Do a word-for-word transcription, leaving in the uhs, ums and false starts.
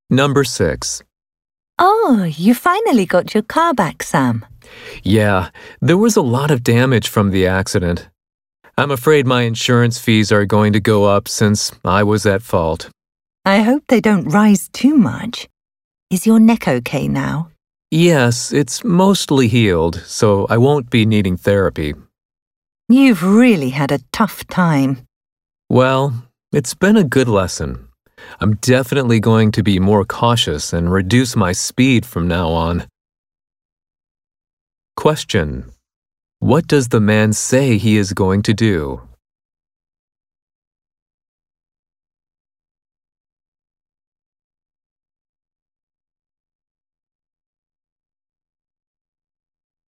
Number six. Oh, you finally got your car back, Sam. Yeah, there was a lot of damage from the accident. I'm afraid my insurance fees are going to go up since I was at fault. I hope they don't rise too much. Is your neck okay now? Yes, it's mostly healed, so I won't be needing therapy. You've really had a tough time. Well, it's been a good lesson. I'm definitely going to be more cautious and reduce my speed from now on. Question: What does the man say he is going to do?